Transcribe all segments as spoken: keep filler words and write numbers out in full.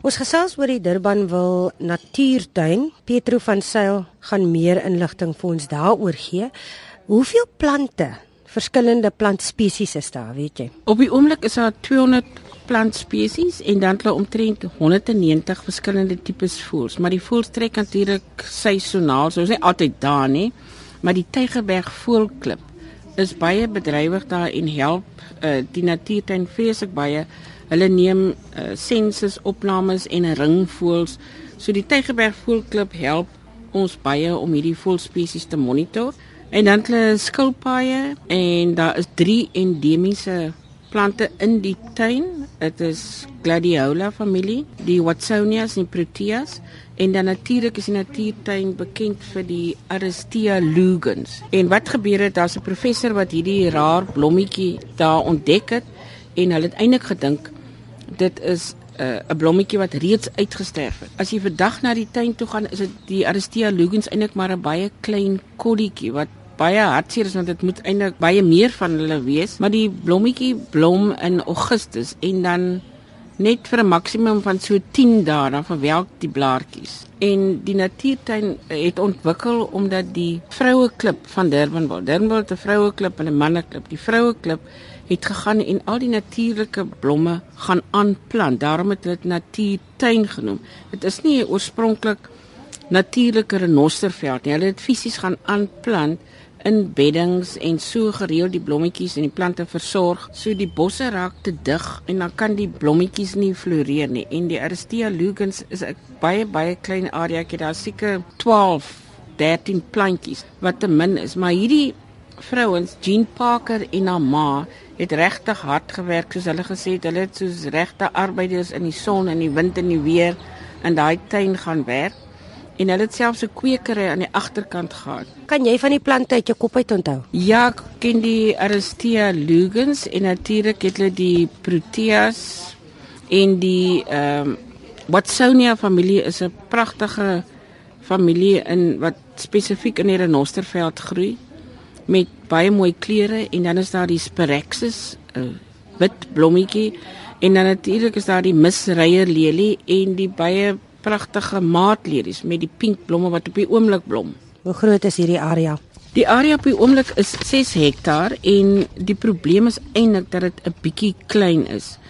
Ons gesels oor die Durbanville Natuurtuin. Petro van Sail gaan meer inligting vir ons daaroor gee. Hoeveel plante, verskillende plantspesies is daar, weet jy? Op die oomblik is daar tweehonderd plantspesies en dan hulle omtrent honderdnegentig verskillende tipes voëls. Maar die voëls trek natuurlik seisoonaal, so is nie altyd daar nie. Maar die Tygerberg Voëlklub is baie bedrywig daar en help uh, die natuurtuin vreeslik baie. Hulle neem uh, sensus opnames en ringvoëls. So die Tygerberg Voëlklub help ons baie om hierdie voëlspesies te monitor. En dan hulle skilpaaie en daar is drie endemiese plante in die tuin. Dit is Gladiola familie, die Watsonias en Proteas. En dan natuurlik is die natuurtuin bekend vir die Aristea lugens. En wat gebeur het, daar's 'n professor wat hierdie raar blommetjie daar ontdek het en hulle het eintlik gedink dit is 'n uh, blommetjie wat reeds uitgesterf het. As jy vandag na die tuin toe gaan, is dit die Aristea lugens eintlik maar 'n baie klein kolletjie wat baie hartseer is want dit moet eintlik baie meer van hulle wees, maar die blommetjie blom in Augustus en dan net vir 'n maksimum van so tien dae dan verwelk die blaartjies. En die natuurtuin het ontwikkel omdat die vroueklub van Durbanville, Durbanville het 'n vroueklub en 'n manneklub. Die vroueklub het gegaan en al die natuurlike blomme gaan aanplant. Daarom het dit natuurtuin genoem. Dit is nie oorspronklik natuurlike renosterveld nie. Hulle het fisies gaan aanplant in beddings en so gereeld die blommetjies en die plante versorg. So die bosse raak te dig en dan kan die blommetjies nie floreer nie. En die Aristea lugens is 'n baie baie klein area. Ek het daar seker twaalf, dertien plantjies wat te min is. Maar hierdie vrouens, Jean Parker en haar ma, het regtig hard gewerk soos hulle gesê het. Hulle het soos regte arbeiders in die son en die wind en die weer in daai tuin gaan werk. En hulle het selfs 'n kweekery aan die agterkant gehad. Kan jy van die plante uit jou kop uit onthou? Ja, ek ken die Aristea lugens en natuurlik het hulle die Proteas en die ehm um, Watsonia familie is 'n pragtige familie in wat spesifiek in die renosterveld groei met baie mooi kleure. En dan is daar die Spiraxis, 'n wit blommetjie, en dan natuurlik is daar die misreierlelie en die baie pragtige maatlelies met die pink blomme wat op die oomblik blom. Hoe groot is hierdie area? Die area op die oomblik is ses hektaar en die probleem is eintlik dat dit 'n bietjie klein is.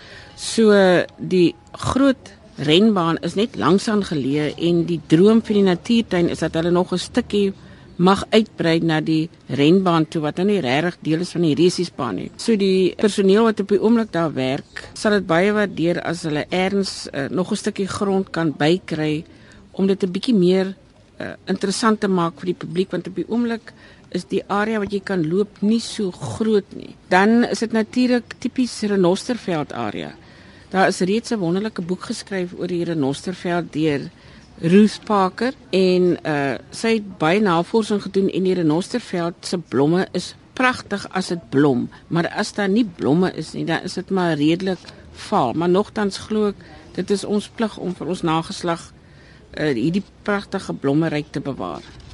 So die groot renbaan is net langs aan geleë en die droom vir die natuurtuin is dat hulle nog 'n stukkie mag uitbrei na die renbaan toe wat nou nie regtig deel is van die resiesbaan nie. So die personeel wat op die oomblik daar werk, sal dit baie waardeer as hulle erns uh, nog 'n stukkie grond kan bykry om dit 'n bietjie meer uh, interessant te maak vir die publiek, want op die oomblik is die area wat jy kan loop nie so groot nie. Dan is dit natuurlik tipies renosterveld area. Daar is reeds 'n wonderlike boek geskryf oor die renosterveld deur Ruth Parker en uh, sy het baie navorsing gedoen en die renosterveld se blomme is pragtig as dit blom, maar as daar nie blomme is nie, dan is dit maar redelik vaal. Maar nogtans glo ek dit is ons plig om vir ons nageslag uh, hierdie pragtige blommeryk te bewaar.